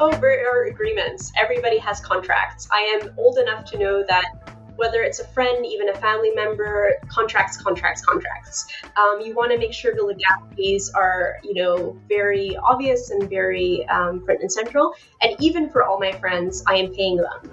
Oh, there are agreements. Everybody has contracts. I am old enough to know that whether it's a friend, even a family member, contracts. You want to make sure the legalities are, very obvious and very front and central. And even for all my friends, I am paying them.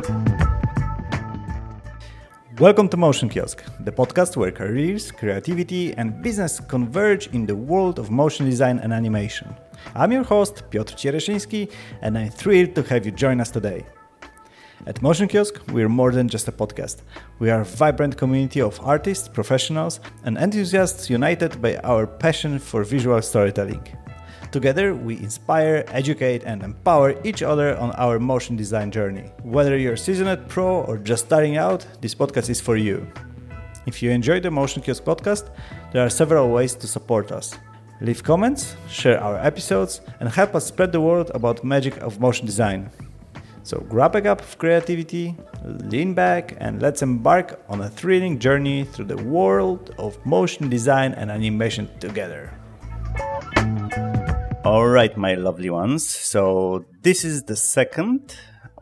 Welcome to Motion Kiosk, the podcast where careers, creativity, and business converge in the world of motion design and animation. I'm your host, Piotr Ciereszyński, and I'm thrilled to have you join us today. At Motion Kiosk, we're more than just a podcast. We are a vibrant community of artists, professionals, and enthusiasts united by our passion for visual storytelling. Together, we inspire, educate, and empower each other on our motion design journey. Whether you're a seasoned pro or just starting out, this podcast is for you. If you enjoy the Motion Kiosk podcast, there are several ways to support us. Leave comments, share our episodes, and help us spread the word about magic of motion design. So grab a cup of creativity, lean back, and let's embark on a thrilling journey through the world of motion design and animation together. All right, my lovely ones. So this is the second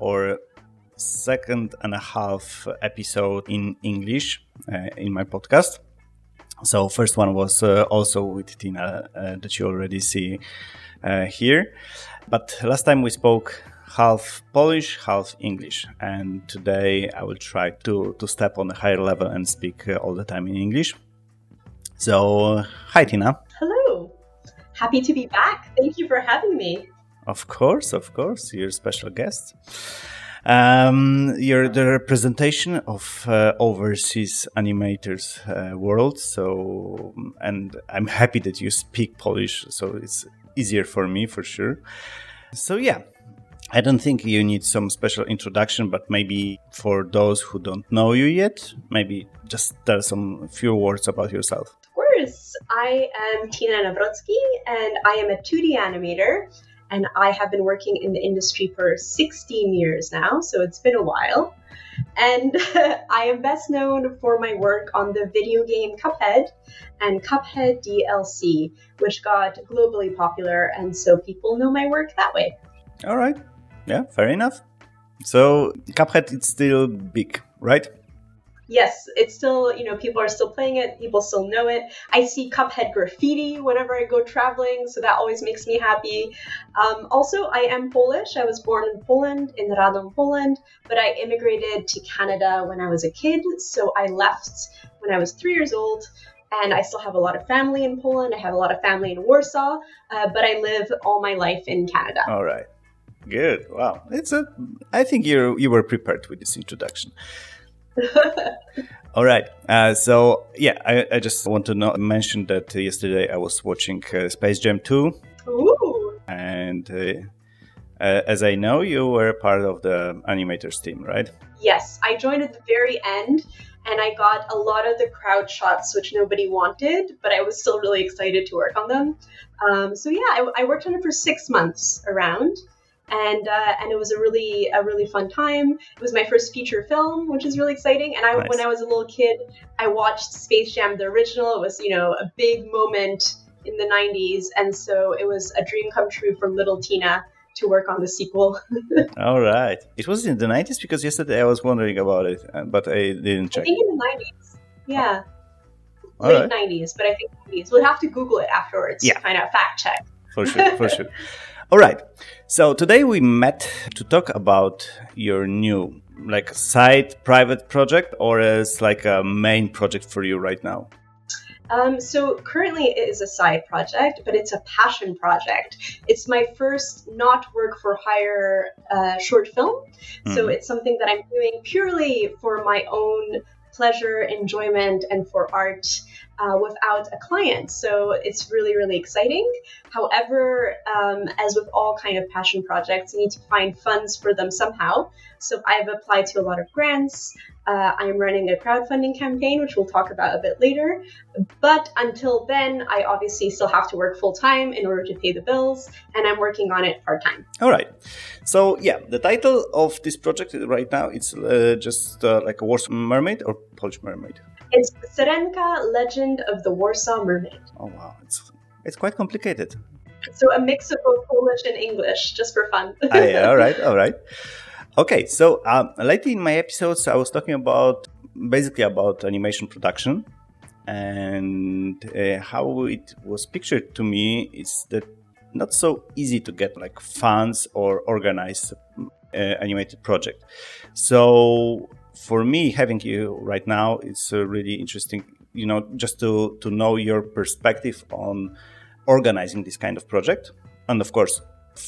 and a half episode in English in my podcast. So first one was also with Tina that you already see here. But last time we spoke half Polish, half English. And today I will try to step on a higher level and speak all the time in English. So, hi Tina. Hello. Happy to be back. Thank you for having me. Of course. You're a special guest. You're the representation of overseas animators world. So, and I'm happy that you speak Polish. So it's easier for me for sure. So yeah, I don't think you need some special introduction, but maybe for those who don't know you yet, maybe just tell some few words about yourself. Of course. I am Tina Nawrocki, and I am a 2D animator, and I have been working in the industry for 16 years now, so it's been a while. And I am best known for my work on the video game Cuphead and Cuphead DLC, which got globally popular, and so people know my work that way. All right. Yeah, fair enough. So Cuphead is still big, right? Yes, it's still, people are still playing it. People still know it. I see Cuphead graffiti whenever I go traveling, so that always makes me happy. Also, I am Polish. I was born in Poland, in Radom, Poland, but I immigrated to Canada when I was a kid. So I left when I was 3 years old, and I still have a lot of family in Poland. I have a lot of family in Warsaw, but I live all my life in Canada. All right. Good. Wow. I think you were prepared with this introduction. All right. So yeah, I just want to mention that yesterday I was watching Space Jam 2. Ooh. And as I know, you were part of the animators team, right? Yes, I joined at the very end, and I got a lot of the crowd shots, which nobody wanted, but I was still really excited to work on them. So yeah, I worked on it for 6 months around. And it was a really fun time. It was my first feature film, which is really exciting. And Nice. When I was a little kid, I watched Space Jam, the original. It was, a big moment in the 90s. And so it was a dream come true for little Tina to work on the sequel. All right. It was in the 90s because yesterday I was wondering about it, but I didn't check. I think in the 90s. Yeah. All Late right. 90s, but I think 90s. We'll have to Google it afterwards Yeah. to find out, fact check. For sure. All right. So today we met to talk about your new side private project, or as a main project for you right now. So currently it is a side project, but it's a passion project. It's my first not work for hire short film. So it's something that I'm doing purely for my own pleasure, enjoyment, and for art without a client. So it's really, really exciting. However, as with all kind of passion projects, you need to find funds for them somehow. So I've applied to a lot of grants. I'm running a crowdfunding campaign, which we'll talk about a bit later. But until then, I obviously still have to work full time in order to pay the bills, and I'm working on it part time. All right. So yeah, the title of this project right now, it's just like a Warsaw Mermaid or Polish Mermaid? It's Syrenka, Legend of the Warsaw Mermaid. Oh wow, it's quite complicated. So a mix of both Polish and English, just for fun. Yeah, all right. Okay, so lately in my episodes, I was talking basically about animation production, and how it was pictured to me is that not so easy to get like funds or organize animated project. So for me, having you right now, it's really interesting, just to know your perspective on organizing this kind of project, and of course,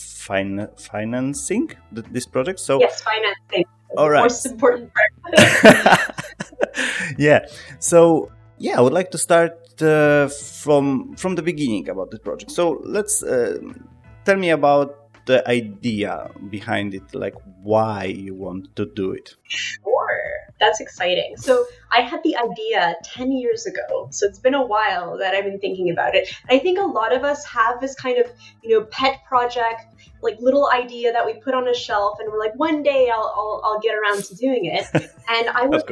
financing this project. So yes, financing. All right. Most important part. Yeah. So I would like to start from the beginning about this project. So let's tell me about the idea behind it, like why you want to do it. Sure. That's exciting. So I had the idea 10 years ago. So it's been a while that I've been thinking about it. And I think a lot of us have this kind of, pet project, like little idea that we put on a shelf and we're like, one day I'll get around to doing it. And I was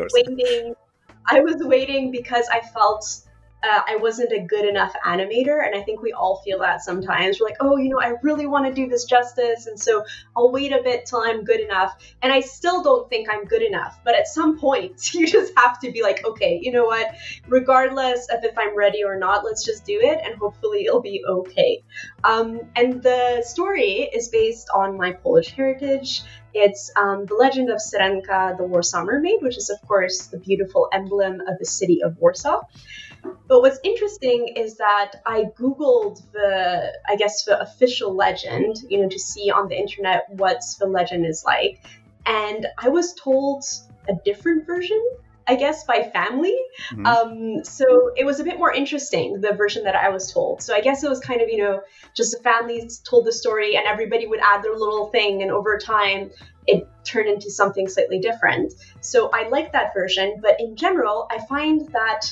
waiting because I felt I wasn't a good enough animator. And I think we all feel that sometimes. We're like, I really want to do this justice. And so I'll wait a bit till I'm good enough. And I still don't think I'm good enough. But at some point, you just have to be like, okay, you know what? Regardless of if I'm ready or not, let's just do it. And hopefully it'll be okay. And the story is based on my Polish heritage. It's the legend of Syrenka, the Warsaw Mermaid, which is, of course, the beautiful emblem of the city of Warsaw. But what's interesting is that I Googled the official legend, to see on the internet what the legend is like. And I was told a different version, I guess, by family. Mm-hmm. So it was a bit more interesting, the version that I was told. So I guess it was kind of, just the families told the story and everybody would add their little thing. And over time, it turned into something slightly different. So I like that version. But in general, I find that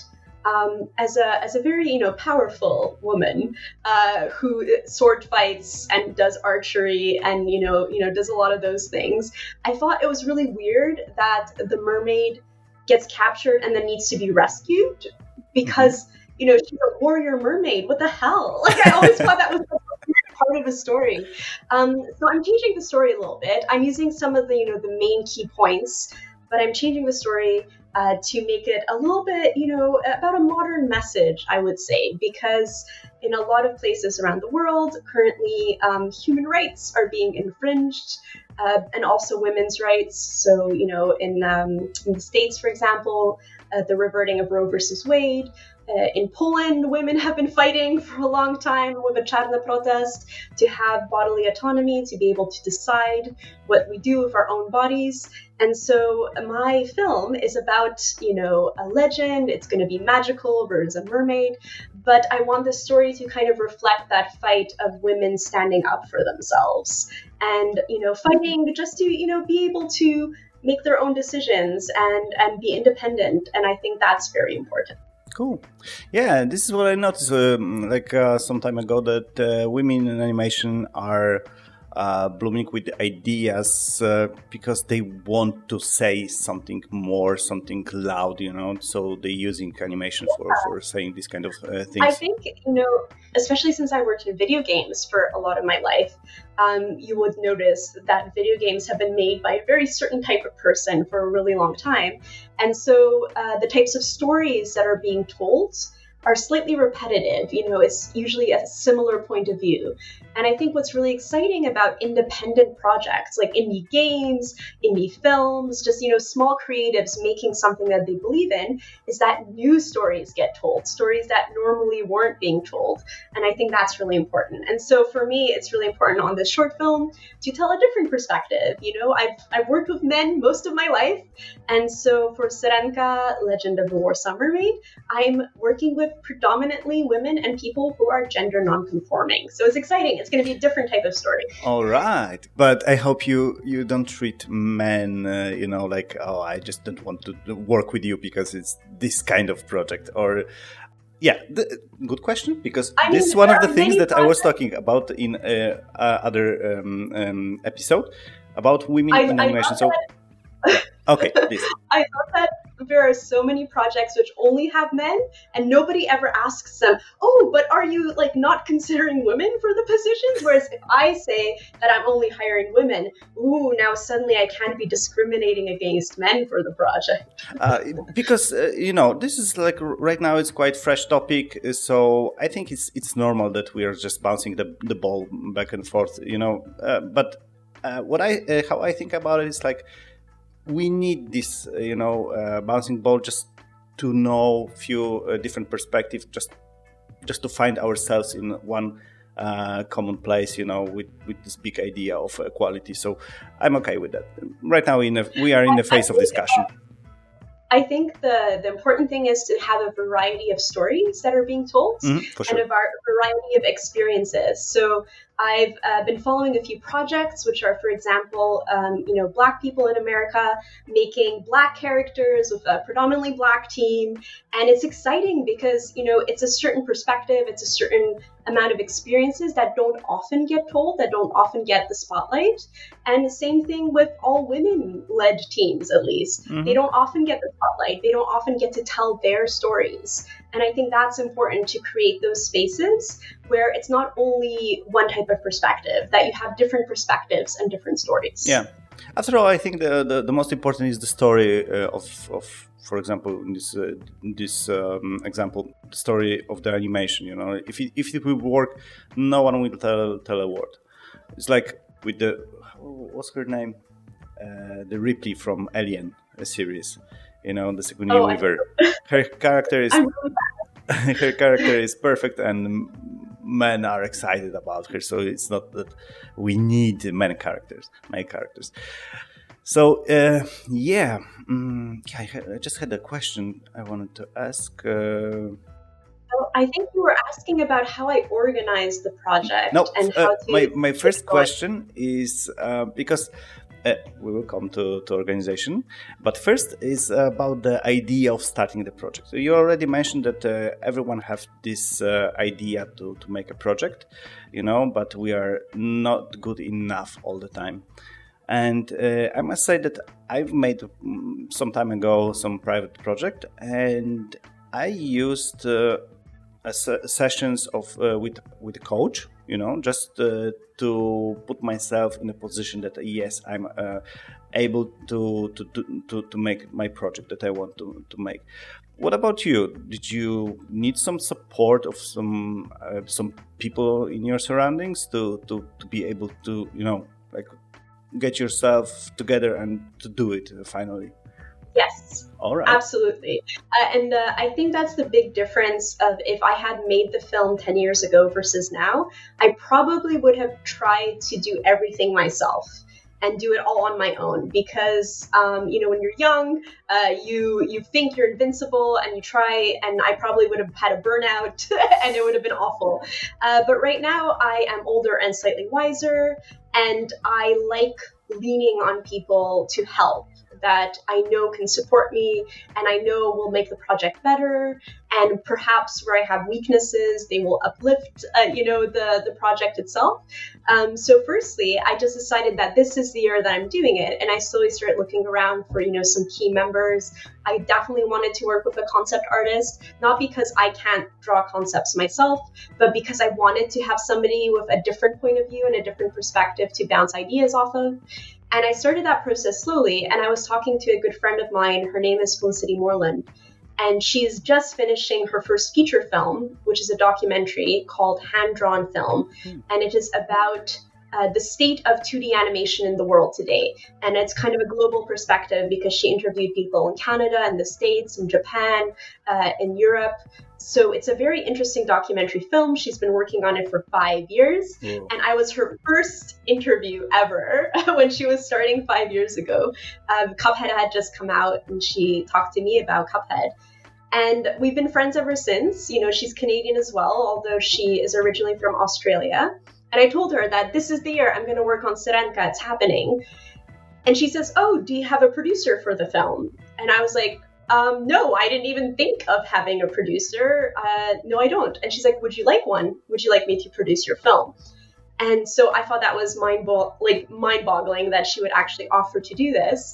as a very powerful woman who sword fights and does archery and does a lot of those things, I thought it was really weird that the mermaid gets captured and then needs to be rescued because she's a warrior mermaid. What the hell? Like I always thought that was a weird part of the story. So I'm changing the story a little bit. I'm using some of the the main key points, but I'm changing the story to make it a little bit, about a modern message, I would say, because in a lot of places around the world, currently human rights are being infringed, and also women's rights. So, in the States, for example, the reverting of Roe versus Wade. In Poland, women have been fighting for a long time with a Czarny protest to have bodily autonomy, to be able to decide what we do with our own bodies. And so my film is about, a legend. It's going to be magical. There's a mermaid. But I want the story to kind of reflect that fight of women standing up for themselves and, fighting just to, be able to make their own decisions and be independent. And I think that's very important. Cool. Yeah, this is what I noticed some time ago, that women in animation are blooming with ideas because they want to say something more, something loud, so they're using animation for saying these kind of things. I think, especially since I worked in video games for a lot of my life, you would notice that video games have been made by a very certain type of person for a really long time. And so the types of stories that are being told are slightly repetitive. It's usually a similar point of view. And I think what's really exciting about independent projects like indie games, indie films, just, small creatives making something that they believe in, is that new stories get told, stories that normally weren't being told. And I think that's really important. And so for me, it's really important on this short film to tell a different perspective. I've worked with men most of my life. And so for Syrenka, Legend of the Warsaw Mermaid, I'm working with predominantly women and people who are gender non-conforming. So it's exciting. It's going to be a different type of story. All right. But I hope you don't treat men, like, oh, I just don't want to work with you because it's this kind of project. Or, yeah, good question, because this is one of the things that I was talking about in other episode about women in animation. So, okay, this. I thought that there are so many projects which only have men, and nobody ever asks them, oh, but are you like not considering women for the positions? Whereas if I say that I'm only hiring women, ooh, now suddenly I can't be discriminating against men for the project. Because this is like right now it's quite fresh topic, so I think it's normal that we are just bouncing the ball back and forth, but how I think about it is like we need this bouncing ball just to know few different perspectives, just to find ourselves in one common place, with this big idea of equality. So I'm okay with that. Right now we are in the phase of discussion. I think the important thing is to have a variety of stories that are being told, for sure. and a variety of experiences. So I've been following a few projects, which are, for example, Black people in America making Black characters with a predominantly Black team. And it's exciting because, it's a certain perspective, it's a certain amount of experiences that don't often get told, that don't often get the spotlight. And the same thing with all women-led teams, at least. They don't often get the spotlight. They don't often get to tell their stories. And I think that's important to create those spaces where it's not only one type of perspective, that you have different perspectives and different stories. Yeah. After all, I think the most important is the story of for example, in this example, the story of the animation. If it will work, no one will tell a word. It's like with what's her name? The Ripley from Alien series. The Sigourney Weaver. Her character is her character is perfect, and men are excited about her. So it's not that we need male characters. So I just had a question I wanted to ask. I think you were asking about how I organize the project. No, and how to my first question is because we will come to organization, but first is about the idea of starting the project. So you already mentioned that everyone have this idea to make a project, but we are not good enough all the time. And I must say that I've made some time ago some private project, and I used sessions of with a coach, just to put myself in a position that yes, I'm able to make my project that I want to make. What about you? Did you need some support of some people in your surroundings to be able to get yourself together and to do it finally? Yes. All right. Absolutely. And I think that's the big difference of if I had made the film 10 years ago versus now, I probably would have tried to do everything myself and do it all on my own because, when you're young, you think you're invincible and you try, and I probably would have had a burnout and it would have been awful. But right now I am older and slightly wiser, and I like leaning on people to help that I know can support me and I know will make the project better, and perhaps where I have weaknesses, they will uplift, the project itself. So firstly, I just decided that this is the year that I'm doing it, and I slowly started looking around for, some key members. I definitely wanted to work with a concept artist, not because I can't draw concepts myself, but because I wanted to have somebody with a different point of view and a different perspective to bounce ideas off of. And I started that process slowly, and I was talking to a good friend of mine. Her name is Felicity Moreland, and she's just finishing her first feature film, which is a documentary called Hand Drawn Film, and it is about the state of 2D animation in the world today. And it's kind of a global perspective because she interviewed people in Canada and the States and Japan, in Europe. So it's a very interesting documentary film. She's been working on it for 5 years. Whoa. And I was her first interview ever when she was starting 5 years ago. Cuphead had just come out and she talked to me about Cuphead. And we've been friends ever since. She's Canadian as well, although she is originally from Australia. And I told her that this is the year I'm going to work on Sirenka. It's happening. And she says, oh, do you have a producer for the film? And I was like, no, I didn't even think of having a producer. No, I don't. And she's like, would you like one? Would you like me to produce your film? And so I thought that was mind-boggling that she would actually offer to do this.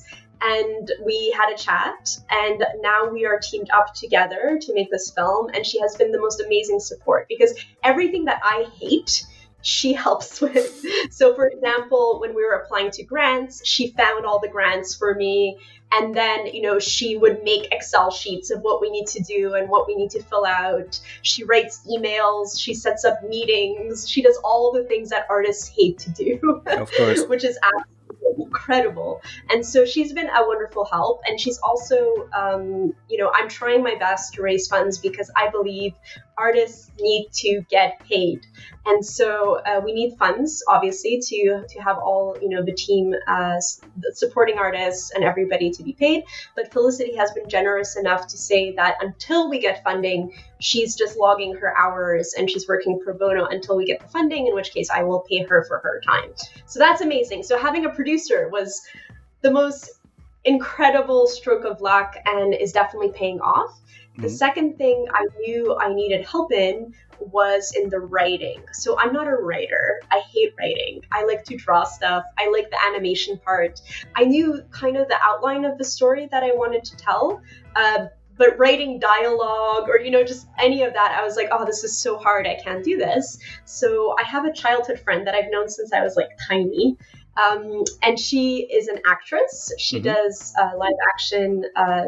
and we had a chat, and now we are teamed up together to make this film, and she has been the most amazing support because everything that I hate, she helps with. So for example, when we were applying to grants, she found all the grants for me. And then, she would make Excel sheets of what we need to do and what we need to fill out. She writes emails. She sets up meetings. She does all the things that artists hate to do. Of course. Which is absolutely incredible. And so she's been a wonderful help. And she's also, I'm trying my best to raise funds because I believe artists need to get paid. And so we need funds, obviously, to have all, the team supporting artists and everybody to be paid. But Felicity has been generous enough to say that until we get funding, she's just logging her hours and she's working pro bono until we get the funding, in which case I will pay her for her time. So that's amazing. So having a producer was the most incredible stroke of luck and is definitely paying off. The second thing I knew I needed help in was in the writing. So I'm not a writer. I hate writing. I like to draw stuff. I like the animation part. I knew kind of the outline of the story that I wanted to tell, but writing dialogue or, just any of that, I was like, oh, this is so hard. I can't do this. So I have a childhood friend that I've known since I was tiny. And she is an actress. She does live action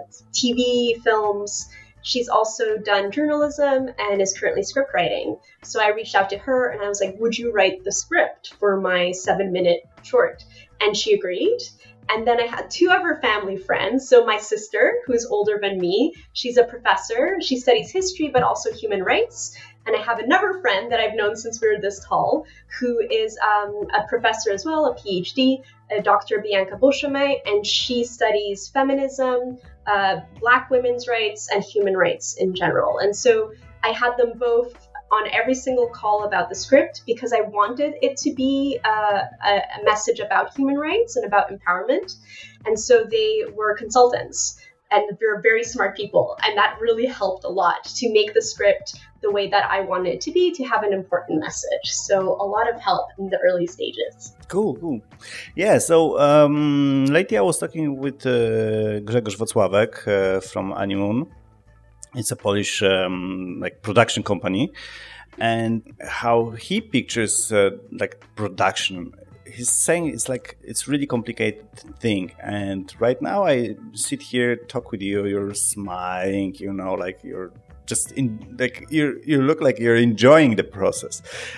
TV, films. She's also done journalism and is currently script writing. So I reached out to her and I was like, would you write the script for my 7-minute short? And she agreed. And then I had 2 of her family friends. So my sister, who's older than me, she's a professor. She studies history, but also human rights. And I have another friend that I've known since we were this tall, who is a professor as well, a PhD, Dr. Bianca Beauchemin, and she studies feminism, Black women's rights, and human rights in general. And so I had them both on every single call about the script because I wanted it to be a message about human rights and about empowerment. And so they were consultants. And they're very smart people. And that really helped a lot to make the script the way that I wanted it to be, to have an important message. So a lot of help in the early stages. Cool. Yeah, so lately I was talking with Grzegorz Wacławek from Animoon. It's a Polish production company. And how he pictures production. He's saying it's really complicated thing, and right now I sit here, talk with you, you're smiling, you're just you look like you're enjoying the process.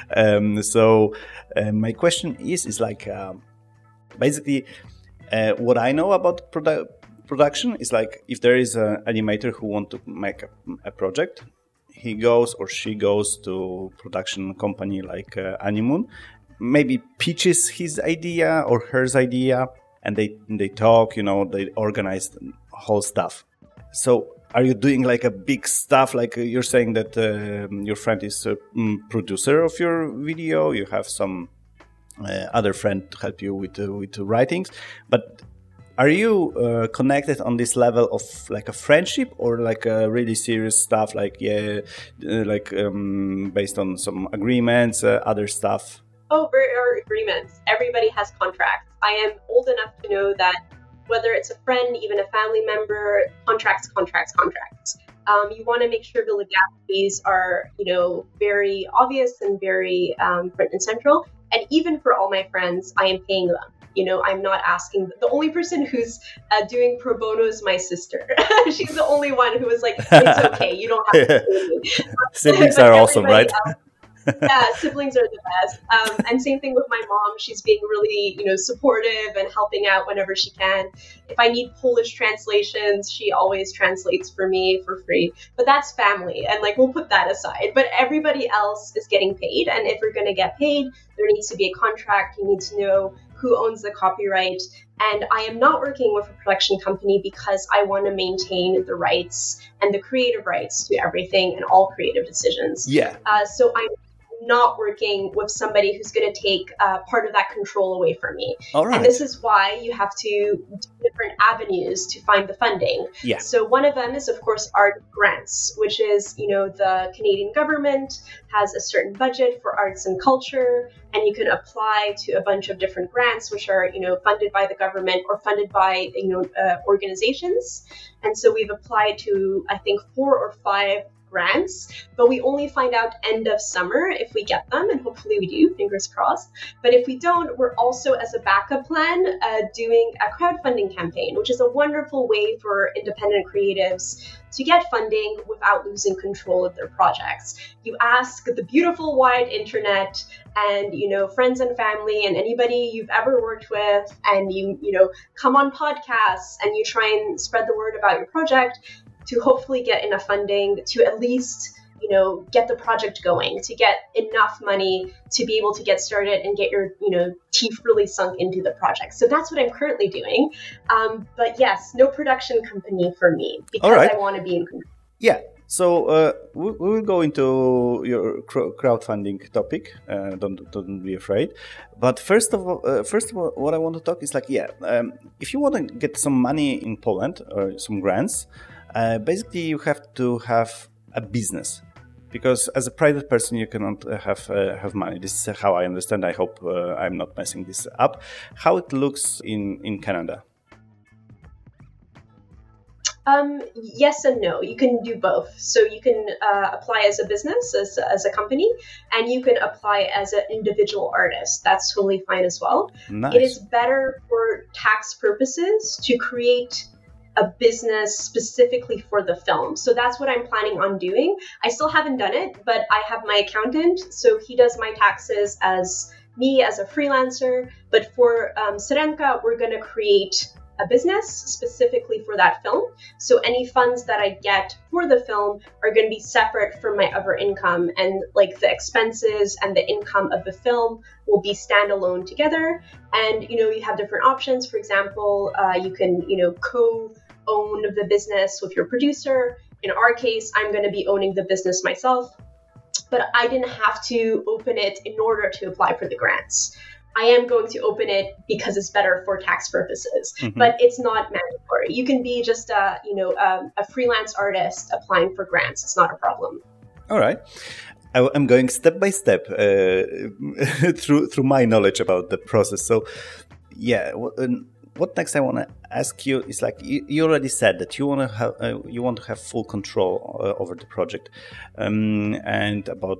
So my question is basically what I know about production is if there is an animator who wants to make a project, he goes or she goes to production company like Animoon, maybe pitches his idea or her idea, and they talk, they organize the whole stuff. So are you doing a big stuff, you're saying that your friend is a producer of your video, you have some other friend to help you with the writings, but are you connected on this level of a friendship or a really serious stuff, based on some agreements, other stuff? Oh, there are agreements. Everybody has contracts. I am old enough to know that whether it's a friend, even a family member, contracts. You want to make sure the legalities are, very obvious and very front and central. And even for all my friends, I am paying them. I'm not asking. The only person who's doing pro bono is my sister. She's the only one who was like, it's okay, you don't have to pay me. Siblings are awesome, right? Yeah, siblings are the best. And same thing with my mom. She's being really, supportive and helping out whenever she can. If I need Polish translations, she always translates for me for free. But that's family, and we'll put that aside. But everybody else is getting paid, and if you're going to get paid, there needs to be a contract. You need to know who owns the copyright. And I am not working with a production company because I want to maintain the rights and the creative rights to everything and all creative decisions. Yeah. So I'm not working with somebody who's going to take part of that control away from me. All right. And this is why you have to do different avenues to find the funding. Yeah. So one of them is, of course, art grants, which is, the Canadian government has a certain budget for arts and culture, and you can apply to a bunch of different grants, which are, funded by the government or funded by, organizations. And so we've applied to, I think, 4 or 5 grants, but we only find out end of summer if we get them, and hopefully we do, fingers crossed. But if we don't, we're also, as a backup plan, doing a crowdfunding campaign, which is a wonderful way for independent creatives to get funding without losing control of their projects. You ask the beautiful wide internet and, friends and family and anybody you've ever worked with, and you come on podcasts and you try and spread the word about your project to hopefully get enough funding to at least, get the project going, to get enough money to be able to get started and get your, teeth really sunk into the project. So that's what I'm currently doing. But yes, no production company for me, because right. I want to be in control. Yeah. So we will go into your crowdfunding topic. Don't be afraid. But first of all, what I want to talk is if you want to get some money in Poland or some grants, basically you have to have a business, because as a private person you cannot have money. This is how I understand. I hope I'm not messing this up. How it looks in Canada? Yes and no. You can do both. So you can apply as a business, as a company, and you can apply as an individual artist. That's totally fine as well. Nice. It is better for tax purposes to create a business specifically for the film. So that's what I'm planning on doing. I still haven't done it, but I have my accountant. So he does my taxes as me as a freelancer. But for Syrenka, we're going to create a business specifically for that film. So any funds that I get for the film are going to be separate from my other income, and the expenses and the income of the film will be standalone together. And, you have different options. For example, you can, co-own the business with your producer. In our case, I'm going to be owning the business myself, but I didn't have to open it in order to apply for the grants. I am going to open it because it's better for tax purposes, but it's not mandatory. You can be just a freelance artist applying for grants. It's not a problem. All right. I'm going step by step through my knowledge about the process. So, yeah, what next I want to ask you is you already said that you want to have full control over the project, and about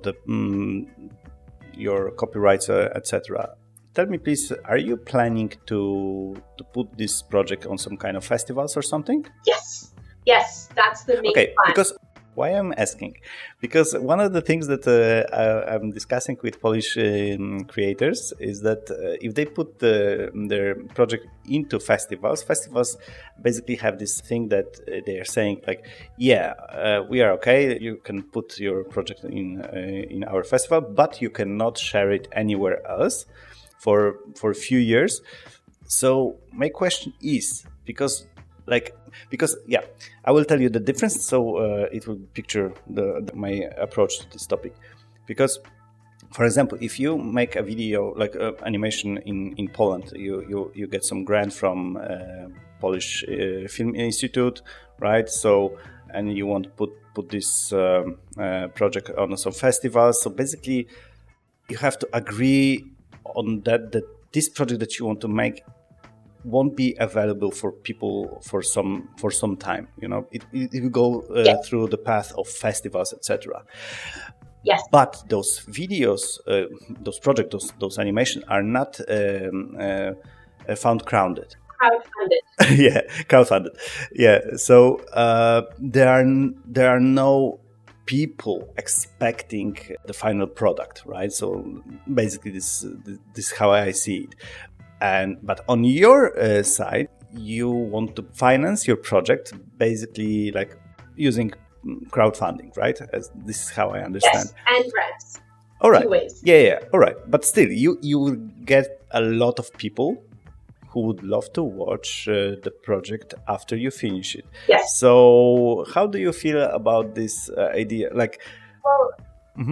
your copyrights, etc. Tell me, please, are you planning to put this project on some kind of festivals or something? Yes, that's the main plan. Because why I'm asking? Because one of the things that I'm discussing with Polish creators is that if they put their project into festivals basically have this thing that they are saying we are okay, you can put your project in our festival, but you cannot share it anywhere else for a few years. So my question is, because I will tell you the difference, so it will picture my approach to this topic. Because, for example, if you make a video animation in Poland, you get some grant from Polish Film Institute, right? So, and you want to put this project on some festivals. So basically, you have to agree on that this project that you want to make won't be available for people for some time. It will go through the path of festivals, etc. Yes. But those videos, those projects, those animations are not crowdfunded. Yeah, crowdfunded. Yeah. So there are no people expecting the final product, right? So basically, this is how I see it. But on your side, you want to finance your project basically using crowdfunding, right? This is how I understand. Yes, and grants. All right. 2 ways. Yeah. All right. But still, you will get a lot of people who would love to watch the project after you finish it. Yes. So how do you feel about this idea?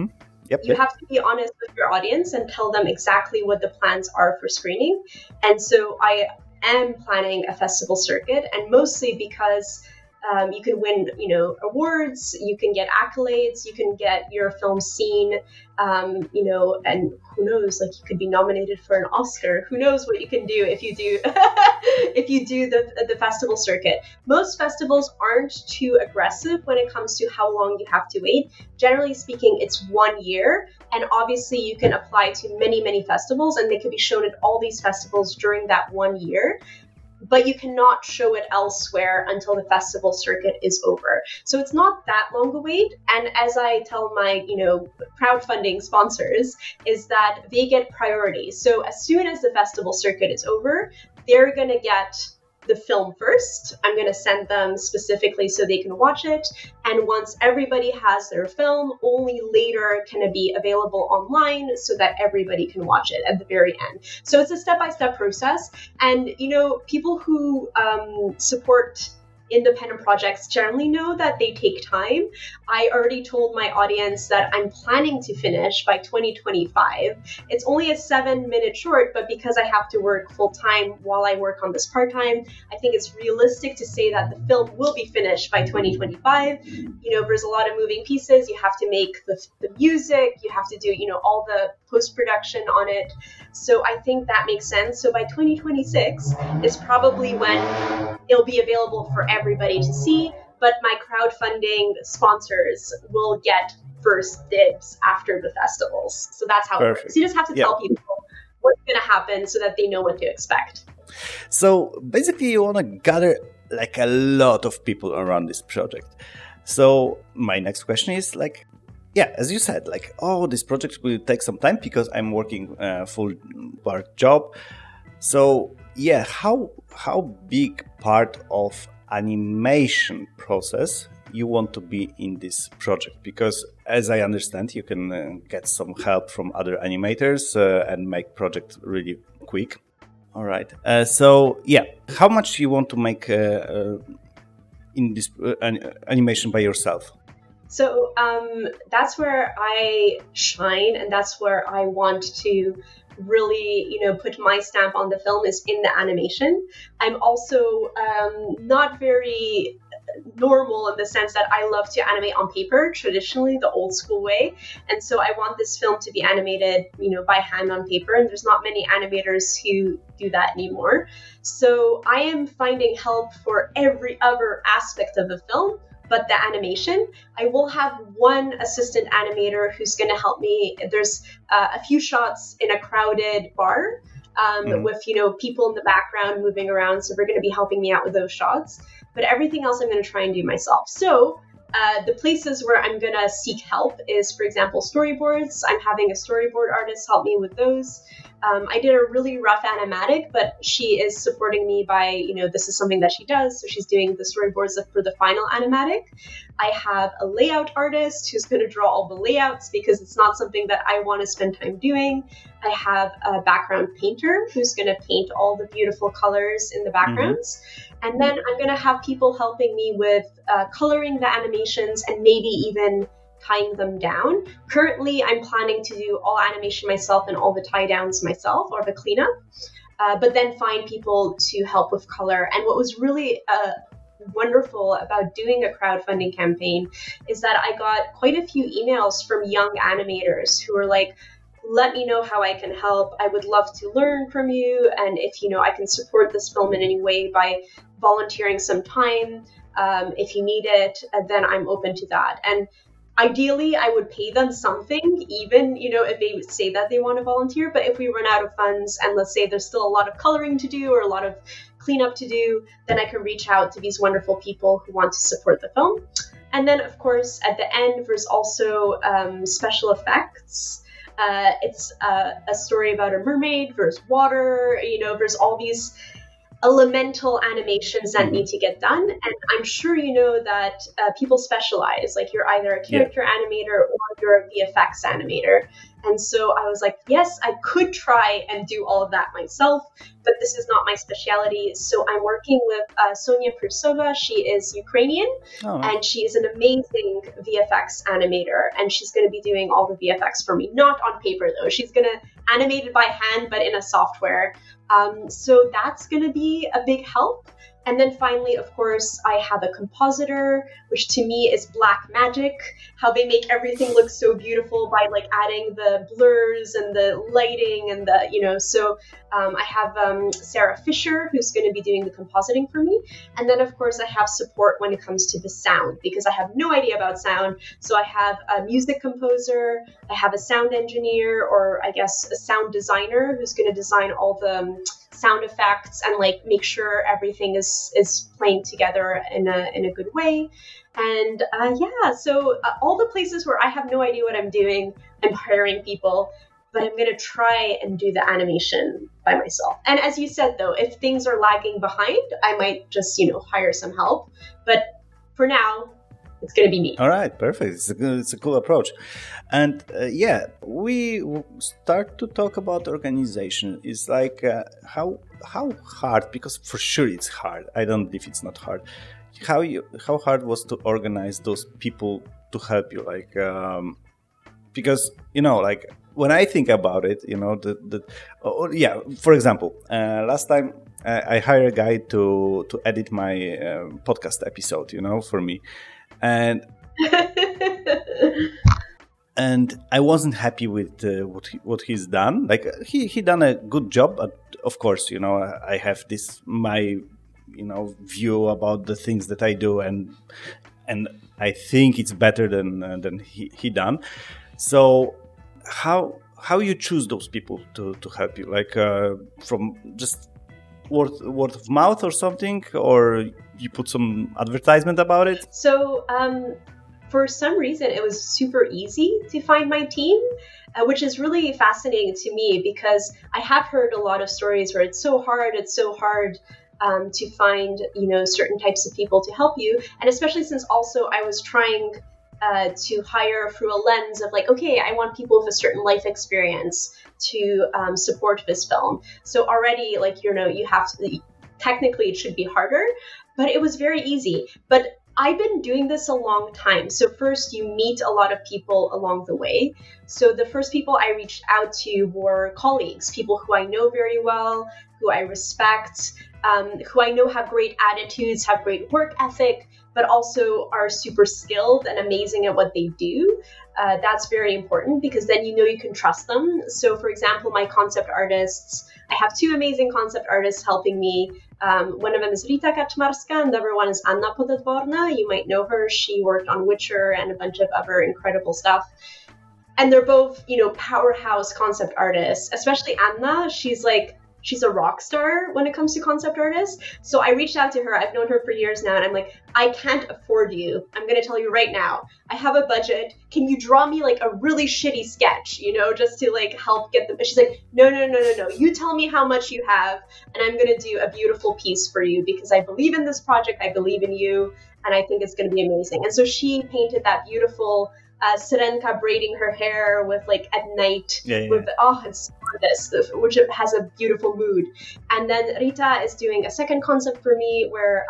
You have to be honest with your audience and tell them exactly what the plans are for screening. And so I am planning a festival circuit, and mostly because you can win, awards, you can get accolades, you can get your film seen, and who knows, like you could be nominated for an Oscar. Who knows what you can do if you do if you do the festival circuit. Most festivals aren't too aggressive when it comes to how long you have to wait. Generally speaking, it's 1 year, and obviously you can apply to many, many festivals, and they could be shown at all these festivals during that 1 year. But you cannot show it elsewhere until the festival circuit is over. So it's not that long a wait. And as I tell my, crowdfunding sponsors, is that they get priority. So as soon as the festival circuit is over, they're going to get the film first. I'm going to send them specifically so they can watch it. And once everybody has their film, only later can it be available online so that everybody can watch it at the very end. So it's a step-by-step process. And, people who support independent projects generally know that they take time. I already told my audience that I'm planning to finish by 2025. It's only a 7-minute short, but because I have to work full time while I work on this part time, I think it's realistic to say that the film will be finished by 2025. There's a lot of moving pieces. You have to make the music, you have to do, all the post-production on it. So I think that makes sense. So by 2026 is probably when it'll be available for everybody to see, but my crowdfunding sponsors will get first dibs after the festivals. So that's how it works. You just have to tell people what's going to happen so that they know what to expect. So basically you want to gather like a lot of people around this project. So my next question is as you said, this project will take some time because I'm working a full-part job. So how big part of animation process you want to be in this project? Because as I understand, you can get some help from other animators and make project really quick. All right. How much you want to make in this animation by yourself? So that's where I shine, and that's where I want to really, put my stamp on the film, is in the animation. I'm also not very normal in the sense that I love to animate on paper, traditionally the old school way. And so I want this film to be animated, by hand on paper. And there's not many animators who do that anymore. So I am finding help for every other aspect of the film, but the animation. I will have one assistant animator who's going to help me. There's a few shots in a crowded bar with, people in the background moving around. So they're going to be helping me out with those shots. But everything else I'm going to try and do myself. So the places where I'm going to seek help is, for example, storyboards. I'm having a storyboard artist help me with those. I did a really rough animatic, but she is supporting me by, this is something that she does. So she's doing the storyboards for the final animatic. I have a layout artist who's going to draw all the layouts because it's not something that I want to spend time doing. I have a background painter who's going to paint all the beautiful colors in the backgrounds. Mm-hmm. And then I'm going to have people helping me with coloring the animations and maybe even tying them down. Currently, I'm planning to do all animation myself and all the tie downs myself, or the cleanup, but then find people to help with color. And what was really wonderful about doing a crowdfunding campaign is that I got quite a few emails from young animators who were like, let me know how I can help. I would love to learn from you. And if, I can support this film in any way by volunteering some time, if you need it, then I'm open to that. And ideally, I would pay them something, even, if they say that they want to volunteer. But if we run out of funds and let's say there's still a lot of coloring to do or a lot of cleanup to do, then I can reach out to these wonderful people who want to support the film. And then, of course, at the end, there's also special effects. It's a story about a mermaid, there's water, there's all these elemental animations that need to get done. And I'm sure that people specialize, like you're either a character animator or you're a VFX animator. And so I was like, yes, I could try and do all of that myself, but this is not my specialty. So I'm working with Sonia Prusova. She is Ukrainian, and she is an amazing VFX animator, and she's going to be doing all the VFX for me. Not on paper, though. She's going to animate it by hand, but in a software. So that's going to be a big help. And then finally, of course, I have a compositor, which to me is black magic, how they make everything look so beautiful by like adding the blurs and the lighting and the, so I have Sarah Fisher, who's going to be doing the compositing for me. And then, of course, I have support when it comes to the sound, because I have no idea about sound. So I have a music composer, I have a sound engineer, or I guess a sound designer who's going to design all the sound effects and like make sure everything is playing together in a good way. And so all the places where I have no idea what I'm doing, I'm hiring people, but I'm going to try and do the animation by myself. And as you said, though, if things are lagging behind, I might just, hire some help. But for now, it's going to be me. All right, perfect. It's a cool approach. And we start to talk about organization. It's like how hard, because for sure it's hard. I don't believe it's not hard. How hard was to organize those people to help you? Like, because, like when I think about it, for example, last time I hired a guy to edit my podcast episode, for me. And I wasn't happy with what he's done. Like he done a good job, but of course, I have this my view about the things that I do, and I think it's better than he done. So how you choose those people to help you? Like from just word of mouth or something, or you put some advertisement about it? So for some reason it was super easy to find my team, which is really fascinating to me, because I have heard a lot of stories where it's so hard to find certain types of people to help you. And especially since also I was trying to hire through a lens of like, okay, I want people with a certain life experience to support this film. So already, like, you have to, technically it should be harder, but it was very easy. But I've been doing this a long time. So first you meet a lot of people along the way. So the first people I reached out to were colleagues, people who I know very well, who I respect, who I know have great attitudes, have great work ethic, but also are super skilled and amazing at what they do. That's very important, because then you can trust them. So for example, my concept artists, I have two amazing concept artists helping me. One of them is Rita Kaczmarska, and the other one is Anna Podedvorna. You might know her. She worked on Witcher and a bunch of other incredible stuff. And they're both, powerhouse concept artists, especially Anna. She's a rock star when it comes to concept artists. So I reached out to her. I've known her for years now. And I'm like, I can't afford you. I'm going to tell you right now. I have a budget. Can you draw me like a really shitty sketch, just to like help get them? She's like, no. You tell me how much you have, and I'm going to do a beautiful piece for you, because I believe in this project. I believe in you. And I think it's going to be amazing. And so she painted that beautiful Syrenka braiding her hair with like at night with it's gorgeous, which has a beautiful mood. And then Rita is doing a second concept for me where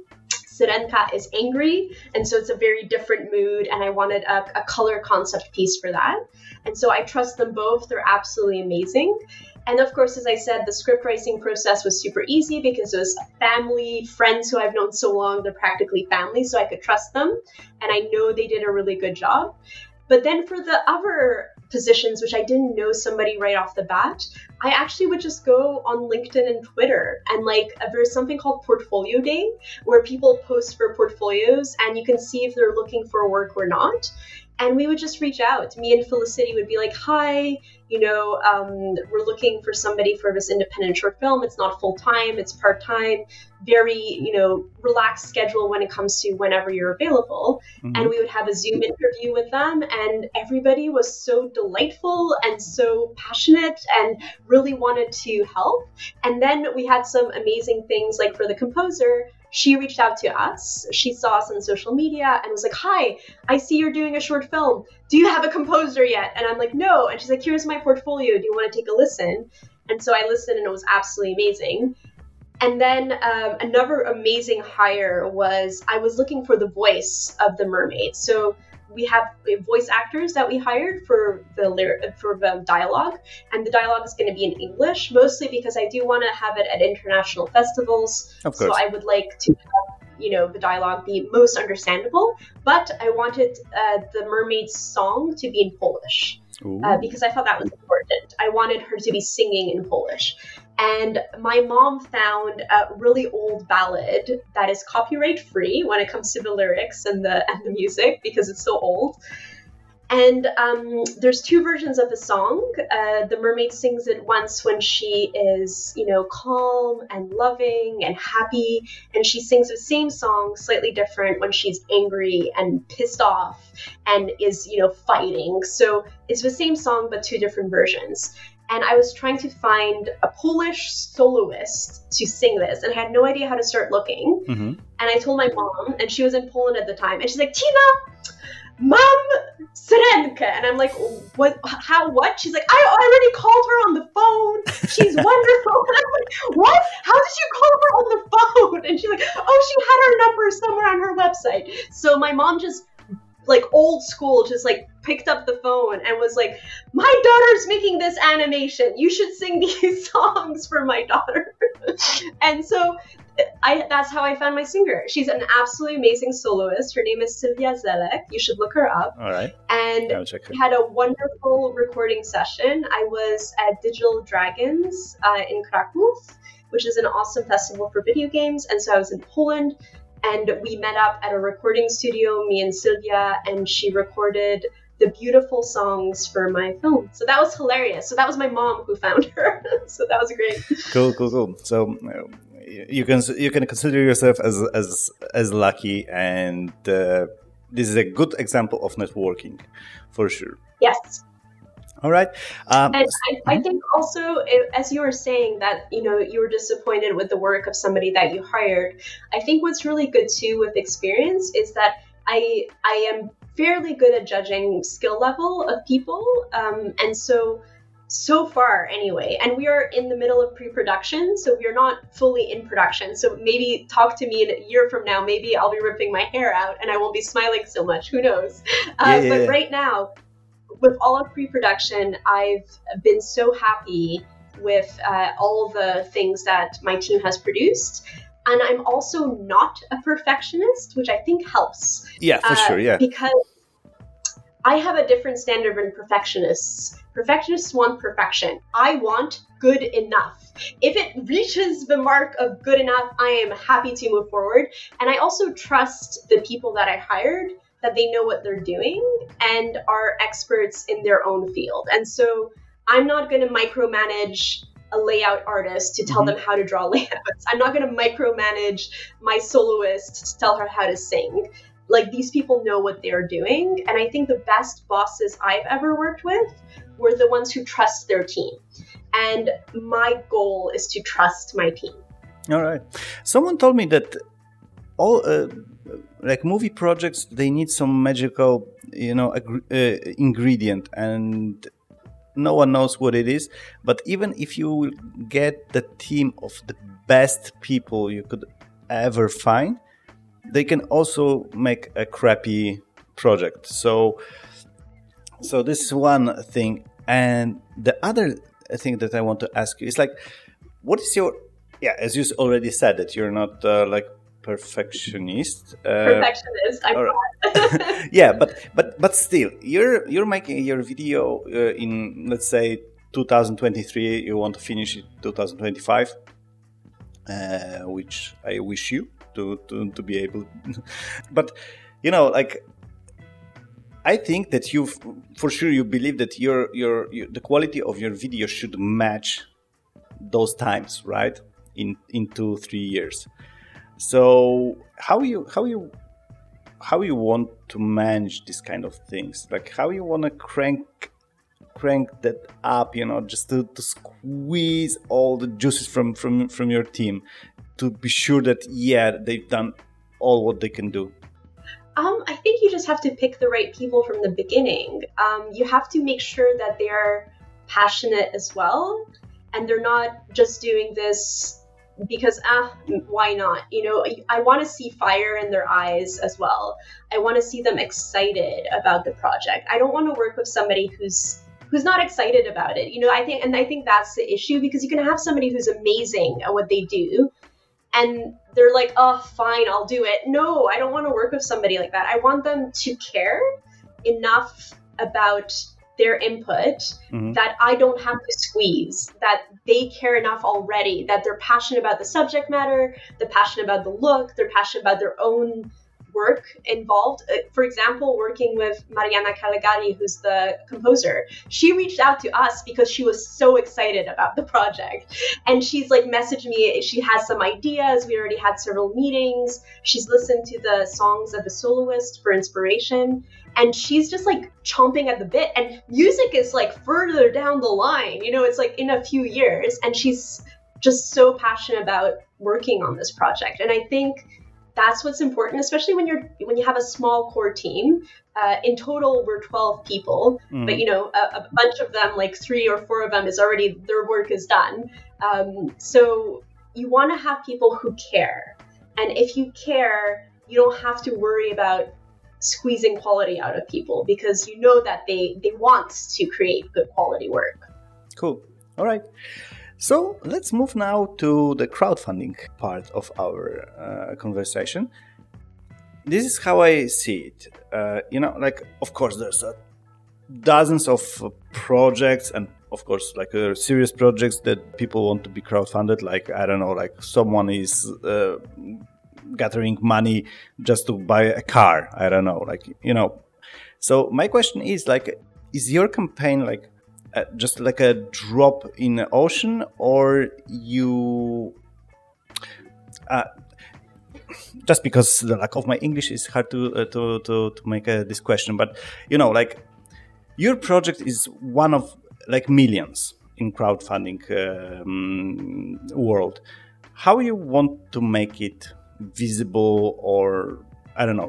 Syrenka is angry, and so it's a very different mood, and I wanted a color concept piece for that. And so I trust them both. They're absolutely amazing. And of course, as I said, the script writing process was super easy because it was family, friends who I've known so long, they're practically family, so I could trust them. And I know they did a really good job. But then for the other positions, which I didn't know somebody right off the bat, I actually would just go on LinkedIn and Twitter. And there's something called Portfolio Day, where people post for portfolios and you can see if they're looking for work or not. And we would just reach out. Me and Felicity would be like, hi, we're looking for somebody for this independent short film. It's not full-time, it's part-time, very, relaxed schedule when it comes to whenever you're available. Mm-hmm. And we would have a Zoom interview with them, and everybody was so delightful and so passionate and really wanted to help. And then we had some amazing things, like for the composer, she reached out to us. She saw us on social media and was like, "Hi, I see you're doing a short film. Do you have a composer yet?" And I'm like, "No." And she's like, "Here's my portfolio. Do you want to take a listen?" And so I listened, and it was absolutely amazing. And then another amazing hire was I was looking for the voice of the mermaid. So we have voice actors that we hired for the dialogue, and the dialogue is going to be in English, mostly because I do want to have it at international festivals. Of course. So I would like to have, the dialogue be most understandable, but I wanted the mermaid's song to be in Polish. Because I thought that was important. I wanted her to be singing in Polish. And my mom found a really old ballad that is copyright free when it comes to the lyrics and the music, because it's so old. And there's two versions of the song. The mermaid sings it once when she is, calm and loving and happy. And she sings the same song, slightly different, when she's angry and pissed off and is, fighting. So it's the same song, but two different versions. And I was trying to find a Polish soloist to sing this, and I had no idea how to start looking. Mm-hmm. And I told my mom, and she was in Poland at the time, and she's like, "Tina, Mom, Syrenkę." And I'm like, "What? How? What?" She's like, "I already called her on the phone. She's wonderful." And I'm like, "What? How did you call her on the phone?" And she's like, "Oh, she had her number somewhere on her website." So my mom just, old school, just picked up the phone and was like, "My daughter's making this animation. You should sing these songs for my daughter." And so that's how I found my singer. She's an absolutely amazing soloist. Her name is Sylwia Zelek. You should look her up. All right. And we had a wonderful recording session. I was at Digital Dragons in Kraków, which is an awesome festival for video games. And so I was in Poland. And we met up at a recording studio, me and Sylwia, and she recorded the beautiful songs for my film. So that was hilarious. So that was my mom who found her. So that was great. Cool. So you can consider yourself as lucky, and this is a good example of networking, for sure. Yes. All right. And I think also, as you were saying that, you were disappointed with the work of somebody that you hired, I think what's really good too with experience is that I am fairly good at judging skill level of people. And so far anyway, and we are in the middle of pre-production, so we are not fully in production. So maybe talk to me in a year from now, maybe I'll be ripping my hair out and I won't be smiling so much. Who knows? But right now, with all of pre-production, I've been so happy with all the things that my team has produced. And I'm also not a perfectionist, which I think helps. Yeah, for sure, yeah. Because I have a different standard than perfectionists. Perfectionists want perfection. I want good enough. If it reaches the mark of good enough, I am happy to move forward. And I also trust the people that I hired, that they know what they're doing and are experts in their own field. And so I'm not going to micromanage a layout artist to tell them how to draw layouts. I'm not going to micromanage my soloist to tell her how to sing. These people know what they're doing. And I think the best bosses I've ever worked with were the ones who trust their team. And my goal is to trust my team. All right. Someone told me that all movie projects, they need some magical, ingredient, and no one knows what it is. But even if you will get the team of the best people you could ever find, they can also make a crappy project. So this is one thing. And the other thing that I want to ask you is what is your, as you already said that you're not perfectionist. I'm not. Yeah, but still, you're making your video in, let's say, 2023. You want to finish it 2025, which I wish you to be able. But I think that you believe that your the quality of your video should match those times, right? In 2-3 years. So how you want to manage this kind of things? How you want to crank that up, just to squeeze all the juices from your team? to be sure that, they've done all what they can do? I think you just have to pick the right people from the beginning. You have to make sure that they're passionate as well, and they're not just doing this because, why not? I want to see fire in their eyes as well. I want to see them excited about the project. I don't want to work with somebody who's not excited about it. I think that's the issue, because you can have somebody who's amazing at what they do, and they're like, oh, fine, I'll do it. No, I don't want to work with somebody like that. I want them to care enough about their input that I don't have to squeeze, that they care enough already, that they're passionate about the subject matter, they're passionate about the look, they're passionate about their own work involved. For example, working with Mariana Calegari, who's the composer, she reached out to us because she was so excited about the project. And she's like messaged me, she has some ideas. We already had several meetings. She's listened to the songs of The Soloist for inspiration. And she's just like chomping at the bit. And music is like further down the line, it's like in a few years. And she's just so passionate about working on this project. And I think that's what's important, especially when you have a small core team. In total, we're 12 people, but a bunch of them, like 3 or 4 of them, is already, their work is done. So you want to have people who care, and if you care, you don't have to worry about squeezing quality out of people, because that they want to create good quality work. Cool. All right. So let's move now to the crowdfunding part of our conversation. This is how I see it. Of course, there's dozens of projects, and of course, serious projects that people want to be crowdfunded. Someone is gathering money just to buy a car. I don't know. So my question is, is your campaign just like a drop in the ocean, or you just because the lack of my English is hard to make this question, but your project is one of millions in crowdfunding world. How you want to make it visible, or I don't know,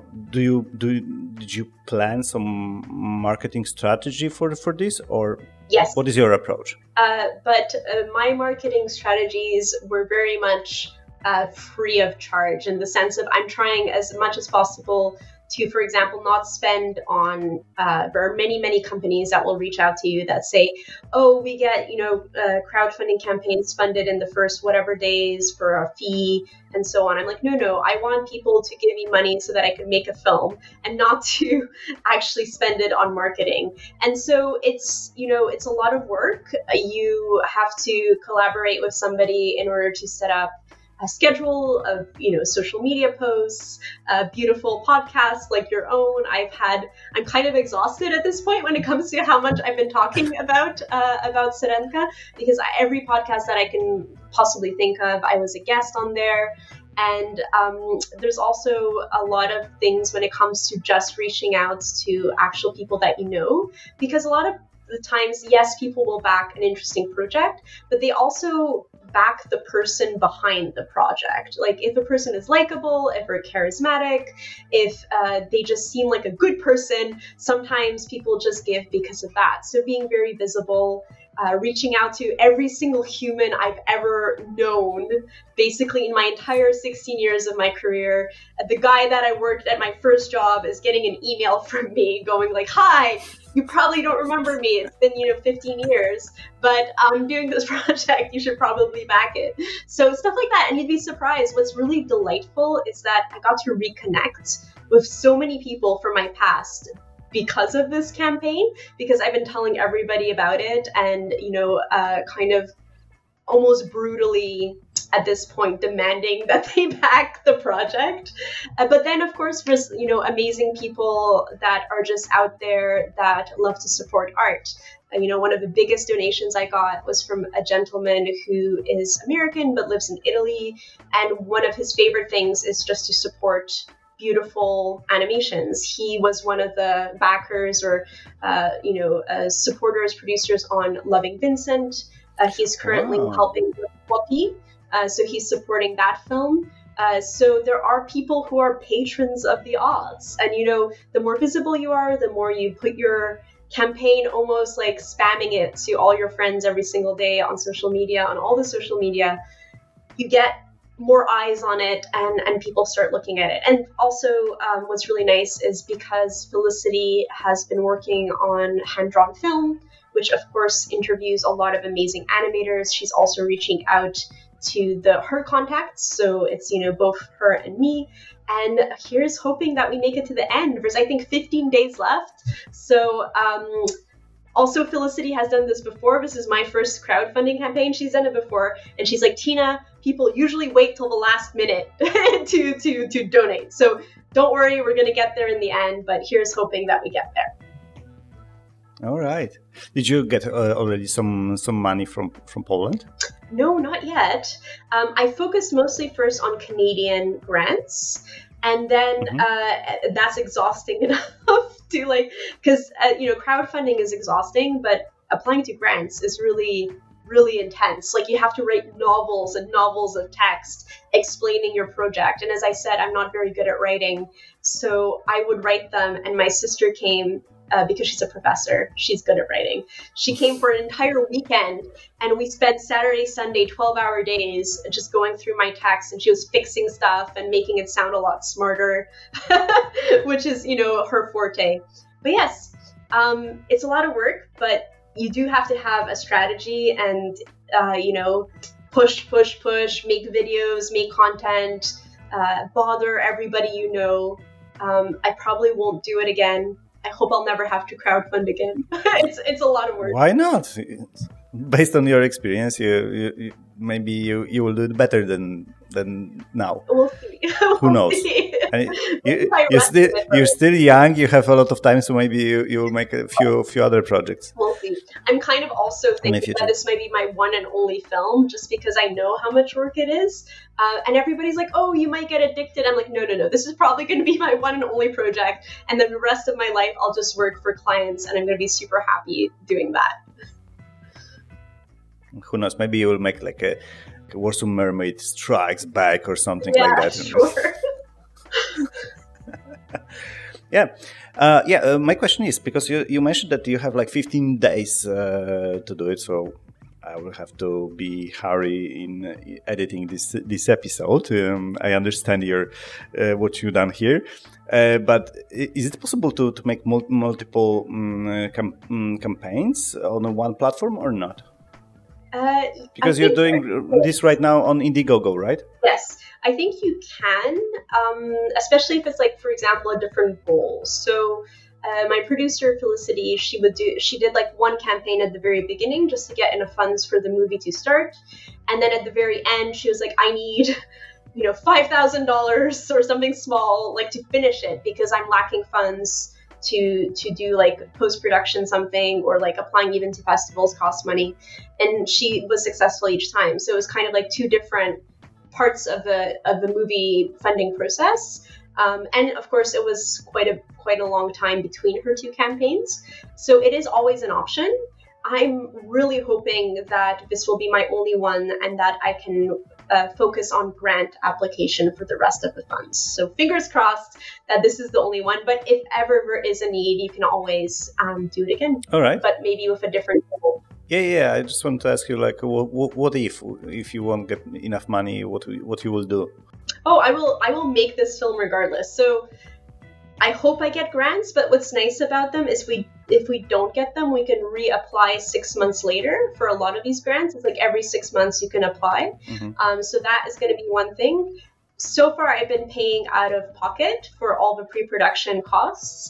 did you plan some marketing strategy for this, or yes, what is your approach? But my marketing strategies were very much free of charge, in the sense of I'm trying as much as possible to, for example, not spend on, there are many companies that will reach out to you that say, oh, we get, crowdfunding campaigns funded in the first whatever days for a fee and so on. I'm like, no, I want people to give me money so that I can make a film, and not to actually spend it on marketing. And so it's a lot of work. You have to collaborate with somebody in order to set up a schedule of, social media posts, beautiful podcasts like your own. I'm kind of exhausted at this point when it comes to how much I've been talking about Syrenka, because every podcast that I can possibly think of, I was a guest on there. And there's also a lot of things when it comes to just reaching out to actual people that because a lot of the times, yes, people will back an interesting project, but they also back the person behind the project. Like, if a person is likable, if they're charismatic, if they just seem like a good person, sometimes people just give because of that. So being very visible, reaching out to every single human I've ever known, basically in my entire 16 years of my career. The guy that I worked at my first job is getting an email from me going like, hi, you probably don't remember me. It's been, 15 years, but I'm doing this project. You should probably back it. So stuff like that. And you'd be surprised. What's really delightful is that I got to reconnect with so many people from my past because of this campaign, because I've been telling everybody about it, and, kind of almost brutally at this point demanding that they back the project. But then, of course, there's, amazing people that are just out there that love to support art. One of the biggest donations I got was from a gentleman who is American but lives in Italy. And one of his favorite things is just to support beautiful animations. He was one of the backers or, supporters, producers on Loving Vincent. He's currently helping with Whoopi, So he's supporting that film. So there are people who are patrons of the Oz. And, the more visible you are, the more you put your campaign almost like spamming it to all your friends every single day on social media, on all the social media, you get more eyes on it and people start looking at it. And also what's really nice is because Felicity has been working on hand-drawn film, which of course interviews a lot of amazing animators. She's also reaching out to her contacts. So it's, both her and me. And here's hoping that we make it to the end. There's, I think, 15 days left. So also Felicity has done this before. This is my first crowdfunding campaign. She's done it before. And she's like, Tina, people usually wait till the last minute to donate. So don't worry, we're going to get there in the end. But here's hoping that we get there. All right. Did you get already some money from Poland? No, not yet. I focused mostly first on Canadian grants, and then that's exhausting enough to because crowdfunding is exhausting, but applying to grants is really, really intense. Like you have to write novels and novels of text explaining your project. And as I said, I'm not very good at writing, so I would write them, and my sister came. Because she's a professor, she's good at writing. She came for an entire weekend, and we spent Saturday, Sunday, 12-hour days just going through my text, and she was fixing stuff and making it sound a lot smarter, which is, her forte. But yes, it's a lot of work, but you do have to have a strategy and, push, make videos, make content, bother everybody I probably won't do it again. I hope I'll never have to crowdfund again. It's a lot of work. Why not? Based on your experience, you maybe you will do it better than now. We'll see. Who knows? You're still young. You have a lot of time, so maybe you will make a few other projects. We'll see. I'm kind of also thinking that this might be my one and only film, just because I know how much work it is. And everybody's like, "Oh, you might get addicted." I'm like, no. This is probably going to be my one and only project, and then the rest of my life I'll just work for clients, and I'm going to be super happy doing that. Who knows? Maybe you will make like a Warsaw Mermaid Strikes Back or something like that. Sure. My question is, because you mentioned that you have like 15 days to do it, so I will have to be hurry in editing this episode. I understand what you've done here, but is it possible to make multiple campaigns on one platform or not? Because you're doing this right now on Indiegogo, right? Yes, I think you can, especially if it's like, for example, a different goal. So my producer Felicity, she did like one campaign at the very beginning just to get enough funds for the movie to start, and then at the very end she was like, I need $5,000 or something small, like to finish it, because I'm lacking funds to do like post-production something, or like applying even to festivals costs money. And she was successful each time. So it was kind of like two different parts of the movie funding process. And of course it was quite a long time between her two campaigns. So it is always an option. I'm really hoping that this will be my only one, and that I can focus on grant application for the rest of the funds. So fingers crossed that this is the only one. But if ever there is a need, you can always do it again. All right. But maybe with a different goal. Yeah. I just want to ask you, like, what if you won't get enough money? What you will do? Oh, I will make this film regardless. So I hope I get grants, but what's nice about them is if we don't get them, we can reapply 6 months later for a lot of these grants. It's like every 6 months you can apply. Mm-hmm. So that is going to be one thing. So far, I've been paying out of pocket for all the pre-production costs.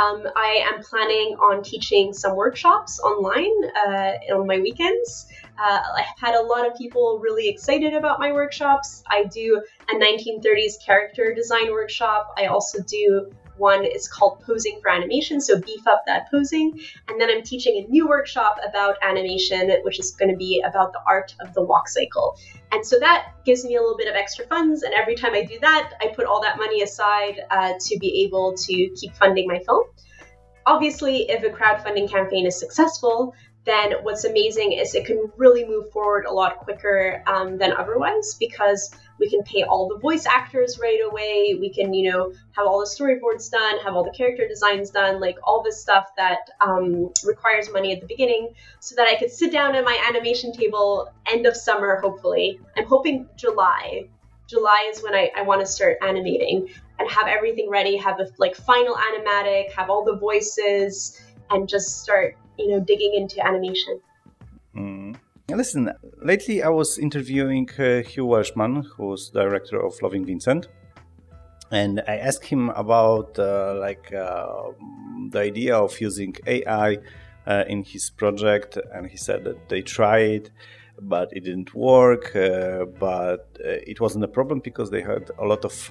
I am planning on teaching some workshops online on my weekends. I've had a lot of people really excited about my workshops. I do a 1930s character design workshop. I also do one, it's called Posing for Animation, so beef up that posing. And then I'm teaching a new workshop about animation, which is going to be about the art of the walk cycle. And so that gives me a little bit of extra funds. And every time I do that, I put all that money aside to be able to keep funding my film. Obviously, if a crowdfunding campaign is successful, then what's amazing is it can really move forward a lot quicker than otherwise, because we can pay all the voice actors right away. We can, have all the storyboards done, have all the character designs done, like all this stuff that requires money at the beginning, so that I could sit down at my animation table end of summer, hopefully. I'm hoping July. July is when I want to start animating and have everything ready, have a final animatic, have all the voices, and just start, digging into animation. Listen, lately I was interviewing Hugh Welshman, who's director of Loving Vincent, and I asked him about the idea of using AI in his project, and he said that they tried, but it didn't work, but it wasn't a problem because they had a lot of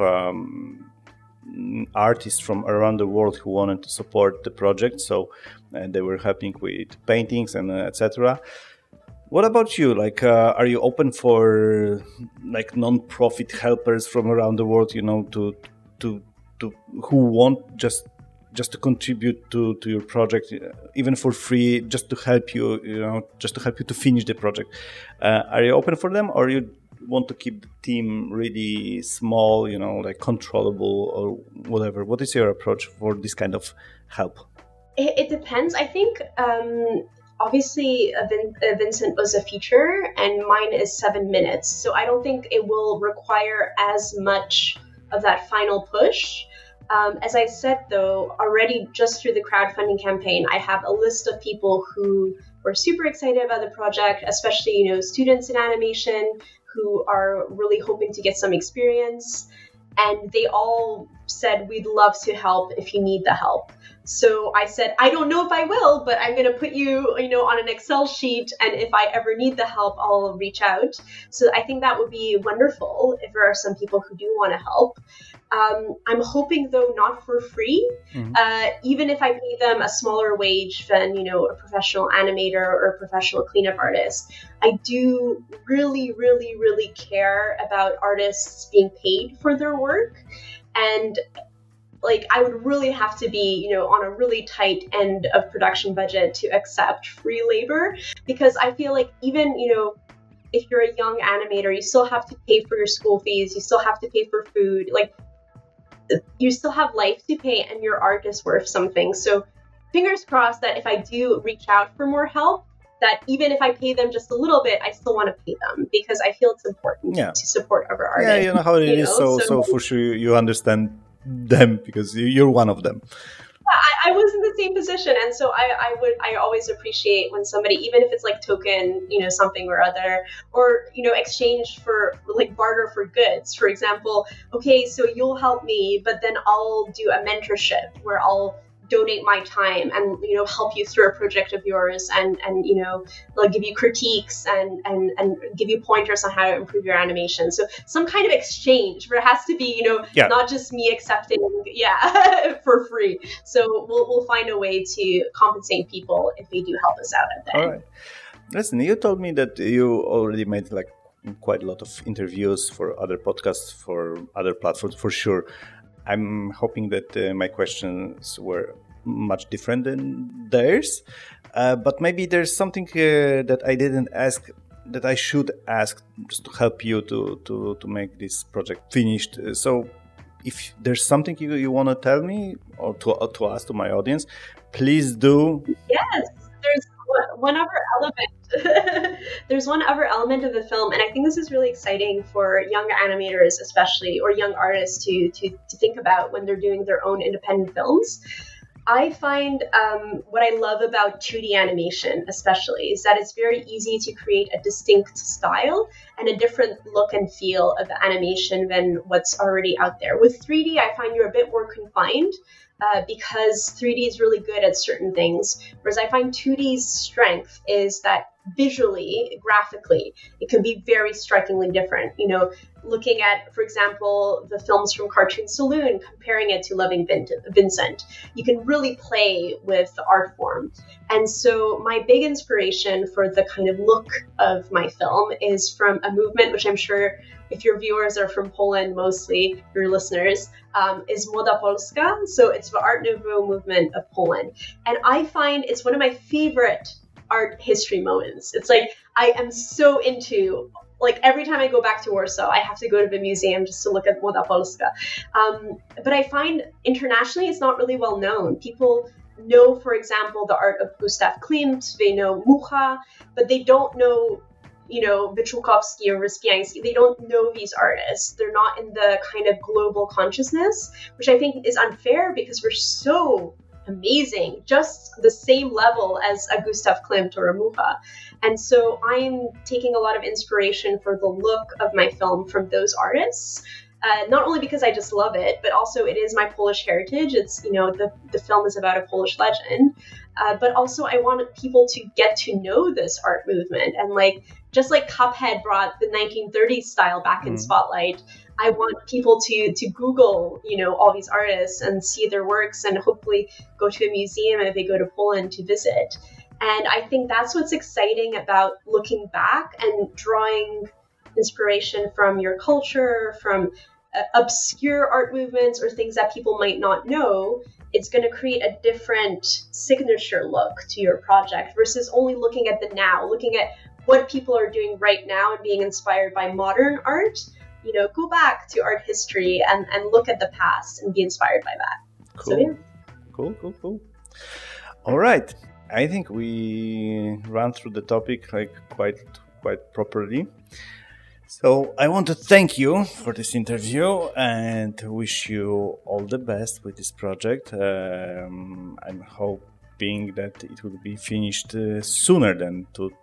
artists from around the world who wanted to support the project, so they were helping with paintings and etc. What about you? Are you open for non-profit helpers from around the world? To who want just to contribute to your project, even for free, just to help you, to finish the project. Are you open for them, or you want to keep the team really small, controllable or whatever? What is your approach for this kind of help? It depends. I think. Obviously, Vincent was a feature and mine is 7 minutes. So I don't think it will require as much of that final push. As I said, though, already just through the crowdfunding campaign, I have a list of people who were super excited about the project, especially, students in animation who are really hoping to get some experience. And they all said, we'd love to help if you need the help. So I said, I don't know if I will, but I'm going to put you, on an Excel sheet. And if I ever need the help, I'll reach out. So I think that would be wonderful if there are some people who do want to help. I'm hoping, though, not for free. Even if I pay them a smaller wage than, a professional animator or a professional cleanup artist, I do really, really, really care about artists being paid for their work. And I would really have to be, on a really tight end of production budget to accept free labor, because I feel like even, if you're a young animator, you still have to pay for your school fees, you still have to pay for food, you still have life to pay, and your art is worth something. So fingers crossed that if I do reach out for more help, that even if I pay them just a little bit, I still want to pay them, because I feel it's important to support other artists. Yeah, you know how it is. So for sure you understand them, because you're one of them. I was in the same position, and so I always appreciate when somebody, even if it's token, something or other, or exchange for barter for goods. For example, okay, so you'll help me, but then I'll do a mentorship where I'll donate my time and help you through a project of yours, and they'll give you critiques and give you pointers on how to improve your animation. So some kind of exchange where it has to be not just me accepting for free. So we'll find a way to compensate people if they do help us out at the end. All right. Listen, you told me that you already made quite a lot of interviews for other podcasts, for other platforms, for sure. I'm hoping that my questions were much different than theirs, but maybe there's something that I didn't ask that I should ask, just to help you to make this project finished. So if there's something you want to tell me or to us, to my audience, please do. Yes, there's one other element. There's one other element of the film, and I think this is really exciting for young animators, especially, or young artists to think about when they're doing their own independent films. I find what I love about 2D animation, especially, is that it's very easy to create a distinct style and a different look and feel of the animation than what's already out there. With 3D, I find you're a bit more confined, because 3D is really good at certain things, whereas I find 2D's strength is that visually, graphically, it can be very strikingly different. Looking at, for example, the films from Cartoon Saloon, comparing it to Loving Vincent, you can really play with the art form. And so my big inspiration for the kind of look of my film is from a movement, which I'm sure if your viewers are from Poland, mostly your listeners, is Moda Polska. So it's the Art Nouveau movement of Poland. And I find it's one of my favorite art history moments. It's like I am so into, like, every time I go back to Warsaw, I have to go to the museum just to look at Młoda Polska. But I find internationally it's not really well known. People know, for example, the art of Gustav Klimt, they know Mucha, but they don't know, Wyczółkowski or Wyspiański. They don't know these artists. They're not in the kind of global consciousness, which I think is unfair because we're so amazing, just the same level as a Gustav Klimt or a Mucha. And so I'm taking a lot of inspiration for the look of my film from those artists. Not only because I just love it, but also it is my Polish heritage. It's, the film is about a Polish legend. But also I want people to get to know this art movement. And just like Cuphead brought the 1930s style back in spotlight, I want people to Google, all these artists and see their works and hopefully go to a museum if they go to Poland to visit. And I think that's what's exciting about looking back and drawing inspiration from your culture, from obscure art movements or things that people might not know. It's going to create a different signature look to your project versus only looking at the now, looking at what people are doing right now and being inspired by modern art. Go back to art history and look at the past and be inspired by that. Cool. So, yeah. Cool. All right. I think we ran through the topic quite properly. So I want to thank you for this interview and wish you all the best with this project. I'm hoping that it will be finished sooner than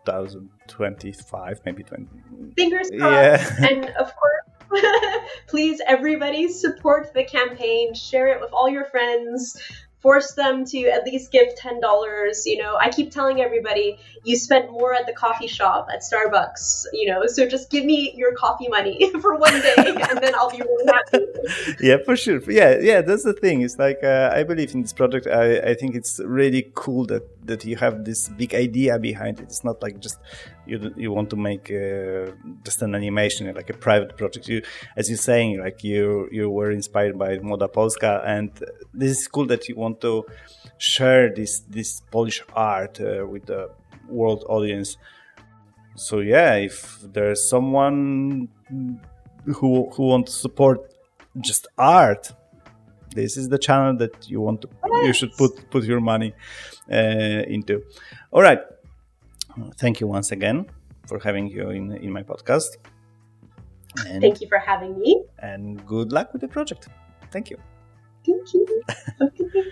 2025, maybe 20. Fingers crossed. Yeah. And of course, please, everybody, support the campaign. Share it with all your friends. Force them to at least give $10. I keep telling everybody, you spent more at the coffee shop at Starbucks, so just give me your coffee money for one day and then I'll be really happy. Yeah, for sure. Yeah, that's the thing. It's I believe in this project. I think it's really cool that you have this big idea behind it. It's not like just you want to make just an animation, like a private project. You, as you're saying, you were inspired by Młoda Polska, and this is cool that you want to share this Polish art with the world audience. So yeah, if there's someone who wants to support just art, this is the channel that you should put your money into. All right. Thank you once again for having you in my podcast. And thank you for having me. And good luck with the project. Thank you. Thank you. Okay.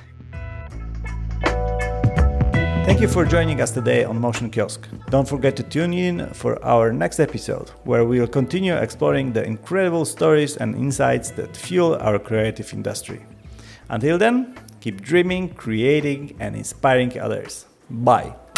Thank you for joining us today on Motion Kiosk. Don't forget to tune in for our next episode, where we will continue exploring the incredible stories and insights that fuel our creative industry. Until then, keep dreaming, creating, and inspiring others. Bye.